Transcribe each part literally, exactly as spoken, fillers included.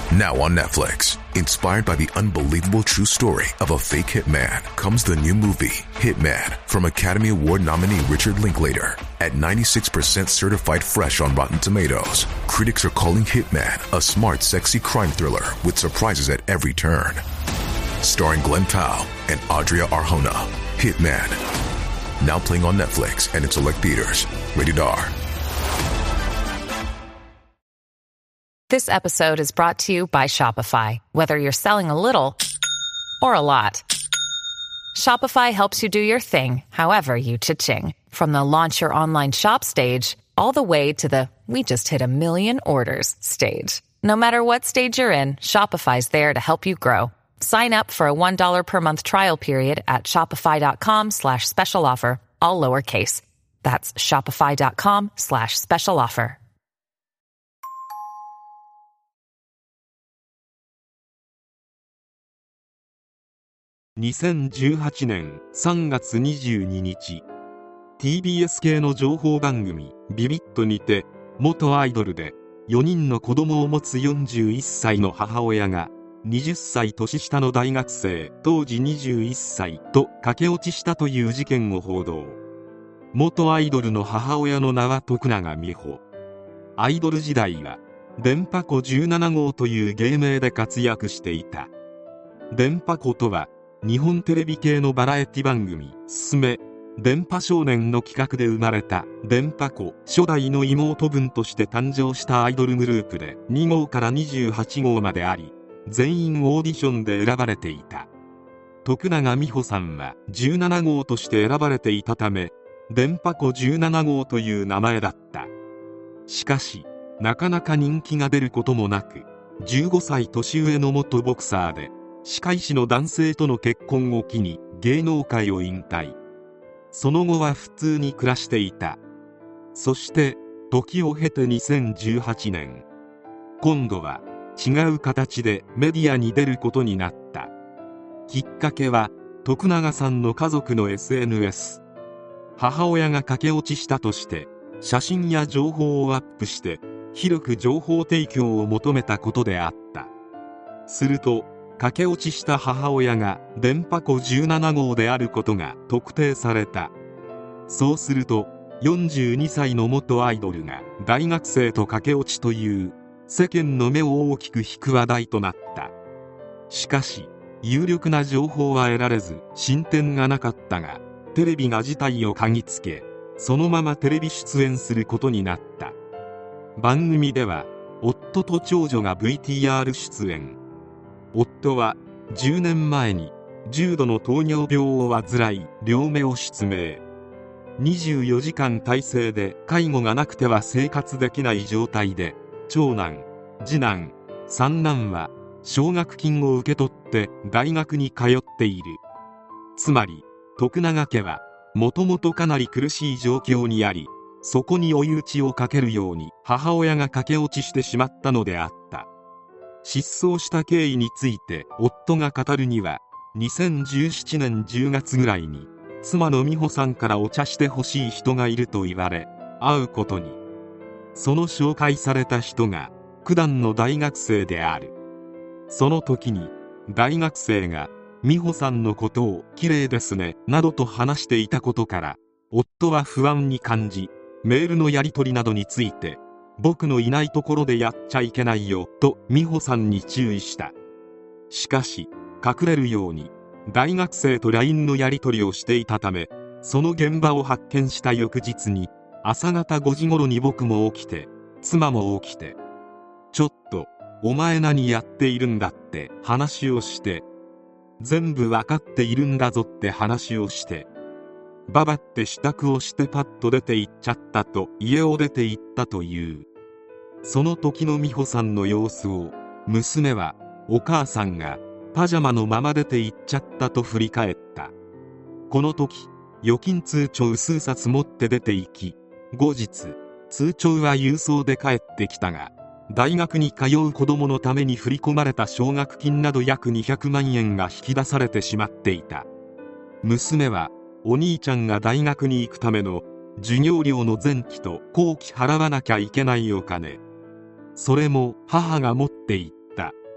Now on Netflix, inspired by the unbelievable true story of a fake hitman, comes the new movie, Hitman, from Academy Award nominee Richard Linklater. At ninety-six percent certified fresh on Rotten Tomatoes, critics are calling Hitman a smart, sexy crime thriller with surprises at every turn. Starring Glenn Powell and Adria Arjona, Hitman. Now playing on Netflix and in select theaters. Rated R. This episode is brought to you by Shopify. Whether you're selling a little or a lot, Shopify helps you do your thing, however you cha-ching. From the launch your online shop stage, all the way to the we just hit a million orders stage. No matter what stage you're in, Shopify's there to help you grow. Sign up for a one dollar per month trial period at shopify.com slash special offer, all lowercase. That's shopify.com slash special offer. にせんじゅうはちねんさんがつにじゅうににち、ティービーエス 系の情報番組ビビットにて、元アイドルでよにんの子供を持つよんじゅういっさいの母親がはたち年下の大学生、当時にじゅういっさいと駆け落ちしたという事件を報道。元アイドルの母親の名は徳永美穂。アイドル時代は電波子じゅうなな号という芸名で活躍していた。電波子とは日本テレビ系のバラエティ番組「すすめ電波少年」の企画で生まれた電波子初代の妹分として誕生したアイドルグループでに号からにじゅうはち号まであり、全員オーディションで選ばれていた。徳永美穂さんはじゅうなな号として選ばれていたため、電波子じゅうなな号という名前だった。しかしなかなか人気が出ることもなく、じゅうごさい年上の元ボクサーで歯科医師の男性との結婚を機に芸能界を引退。その後は普通に暮らしていた。そして時を経てにせんじゅうはちねん、今度は違う形でメディアに出ることになった。きっかけは徳永さんの家族の エスエヌエス。母親が駆け落ちしたとして写真や情報をアップして広く情報提供を求めたことであった。すると駆け落ちした母親が電波子じゅうなな号であることが特定された。そうするとよんじゅうにさいの元アイドルが大学生と駆け落ちという世間の目を大きく引く話題となった。しかし有力な情報は得られず進展がなかったが、テレビが事態を嗅ぎつけ、そのままテレビ出演することになった。番組では夫と長女が ブイティーアール 出演。夫はじゅうねんまえに重度の糖尿病を患い両目を失明。にじゅうよじかん体制で介護がなくては生活できない状態で、長男、次男、三男は奨学金を受け取って大学に通っている。つまり徳永家はもともとかなり苦しい状況にあり、そこに追い打ちをかけるように母親が駆け落ちしてしまったのであった。失踪した経緯について夫が語るには、にせんじゅうななねんじゅうがつぐらいに妻の美穂さんからお茶してほしい人がいると言われ会うことに。その紹介された人が九段の大学生である。その時に大学生が美穂さんのことを綺麗ですねなどと話していたことから、夫は不安に感じ、メールのやり取りなどについて僕のいないところでやっちゃいけないよと美穂さんに注意した。しかし隠れるように大学生と ライン のやり取りをしていたため、その現場を発見した翌日に朝方ごじ頃に僕も起きて妻も起きて、ちょっとお前何やっているんだって話をして、全部わかっているんだぞって話をして、ババって支度をしてパッと出て行っちゃったと家を出て行ったという。その時の美穂さんの様子を娘は、お母さんがパジャマのまま出て行っちゃったと振り返った。この時預金通帳数冊持って出て行き、後日通帳は郵送で帰ってきたが、大学に通う子供のために振り込まれた奨学金など約にひゃくまんえんが引き出されてしまっていた。娘はお兄ちゃんが大学に行くための授業料の前期と後期払わなきゃいけないお金、それも母が持っていった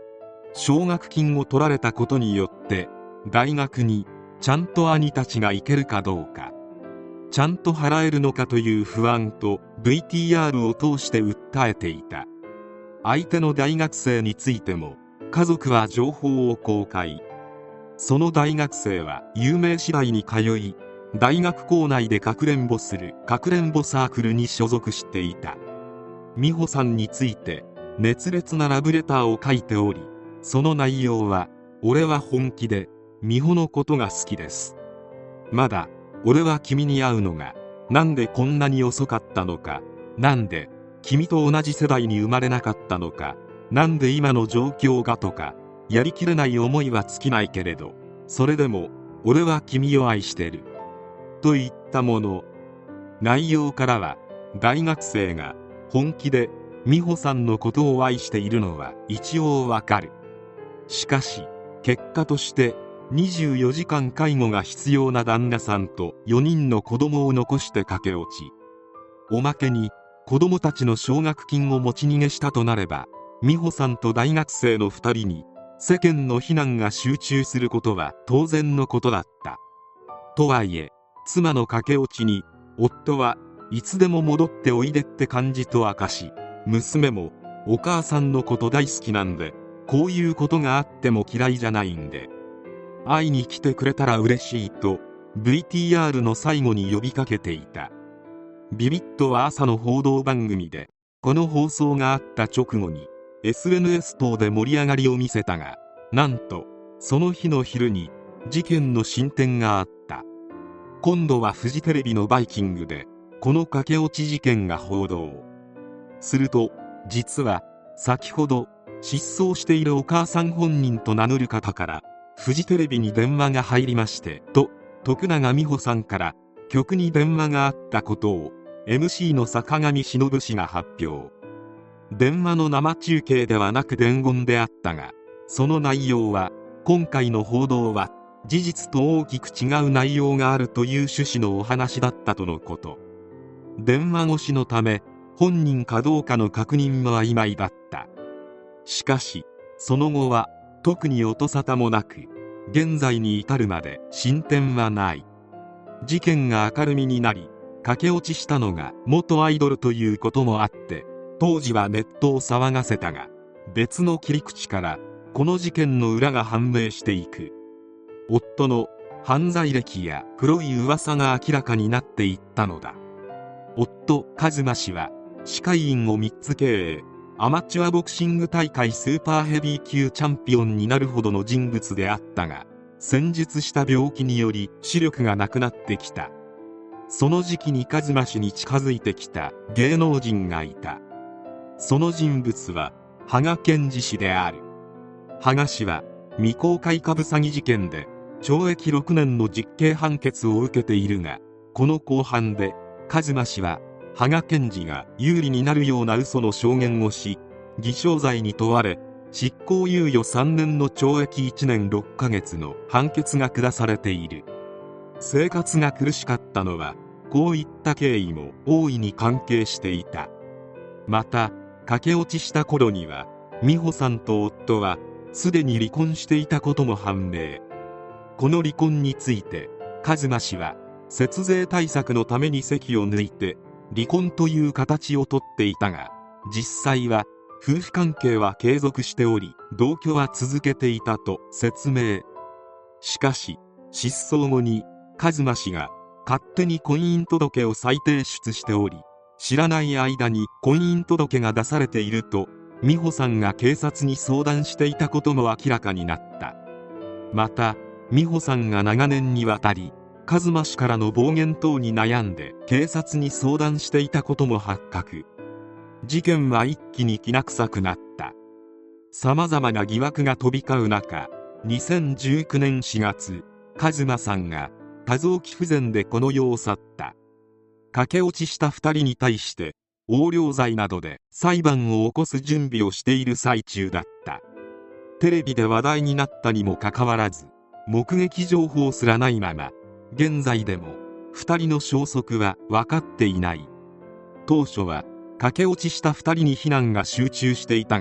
奨学金を取られたことによって大学にちゃんと兄たちが行けるかどうか、ちゃんと払えるのかという不安と ブイティーアール を通して訴えていた。相手の大学生についても家族は情報を公開。その大学生は有名私大に通い、大学校内でかくれんぼするかくれんぼサークルに所属していた。美穂さんについて熱烈なラブレターを書いており、その内容は、俺は本気で美穂のことが好きです。まだ俺は君に会うのがなんでこんなに遅かったのか、なんで君と同じ世代に生まれなかったのか、なんで今の状況がとか、やりきれない思いは尽きないけれど、それでも俺は君を愛してるといったもの。内容からは大学生が本気で美穂さんのことを愛しているのは一応わかる。しかし結果としてにじゅうよじかん介護が必要な旦那さんとよにんの子供を残して駆け落ち、おまけに子供たちの奨学金を持ち逃げしたとなれば、美穂さんと大学生のふたりに世間の非難が集中することは当然のことだった。とはいえ妻の駆け落ちに夫はいつでも戻っておいでって感じと明かし、娘もお母さんのこと大好きなんで、こういうことがあっても嫌いじゃないんで会いに来てくれたら嬉しいと ブイティーアール の最後に呼びかけていた。ビビットは朝の報道番組でこの放送があった直後に エスエヌエス 等で盛り上がりを見せたが、なんとその日の昼に事件の進展があった。今度はフジテレビのバイキングでこの駆け落ち事件が報道。すると実は先ほど失踪しているお母さん本人と名乗る方からフジテレビに電話が入りましてと、徳永美穂さんから局に電話があったことを エムシー の坂上忍氏が発表。電話の生中継ではなく伝言であったが、その内容は今回の報道は事実と大きく違う内容があるという趣旨のお話だったとのこと。電話越しのため本人かどうかの確認も曖昧だった。しかしその後は特に音沙汰もなく、現在に至るまで進展はない。事件が明るみになり駆け落ちしたのが元アイドルということもあって当時はネットを騒がせたが、別の切り口からこの事件の裏が判明していく。夫の犯罪歴や黒い噂が明らかになっていったのだ。夫一馬氏は歯科医院をみっつ経営、アマチュアボクシング大会スーパーヘビー級チャンピオンになるほどの人物であったが、戦術した病気により視力がなくなってきた。その時期に一馬氏に近づいてきた芸能人がいた。その人物は羽賀健二氏である。羽賀氏は未公開株詐欺事件で懲役ろくねんの実刑判決を受けているが、この公判で一馬氏は羽賀健二が有利になるような嘘の証言をし、偽証罪に問われ執行猶予さんねんの懲役いちねんろっかげつの判決が下されている。生活が苦しかったのはこういった経緯も大いに関係していた。また駆け落ちした頃には美穂さんと夫はすでに離婚していたことも判明。この離婚について一馬氏は節税対策のために籍を抜いて離婚という形をとっていたが、実際は夫婦関係は継続しており同居は続けていたと説明。しかし失踪後に一馬氏が勝手に婚姻届を再提出しており、知らない間に婚姻届が出されていると美穂さんが警察に相談していたことも明らかになった。また美穂さんが長年にわたり一馬氏からの暴言等に悩んで警察に相談していたことも発覚。事件は一気にきな臭くなった。さまざまな疑惑が飛び交う中、にせんじゅうきゅうねんしがつ、一馬さんが多臓器不全でこの世を去った。駆け落ちしたふたりに対して横領罪などで裁判を起こす準備をしている最中だった。テレビで話題になったにもかかわらず目撃情報すらないまま、現在でもふたりの消息は分かっていない。当初は駆け落ちしたふたりに非難が集中していたが、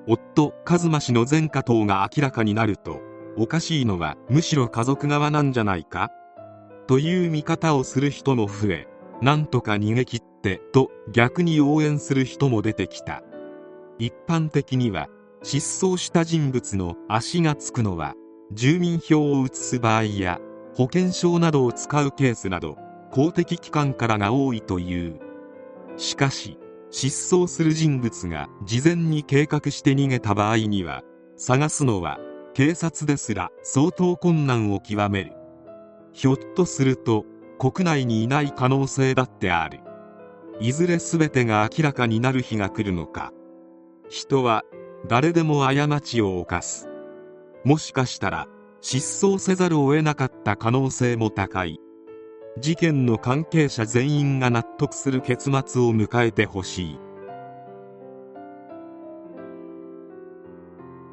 夫一馬氏の前科等が明らかになると、おかしいのはむしろ家族側なんじゃないかという見方をする人も増え、なんとか逃げ切ってと逆に応援する人も出てきた。一般的には失踪した人物の足がつくのは住民票を移す場合や保険証などを使うケースなど公的機関からが多いという。しかし失踪する人物が事前に計画して逃げた場合には、探すのは警察ですら相当困難を極める。ひょっとすると国内にいない可能性だってある。いずれ全てが明らかになる日が来るのか。人は誰でも過ちを犯す。もしかしたら失踪せざるを得なかった可能性も高い。事件の関係者全員が納得する結末を迎えてほしい。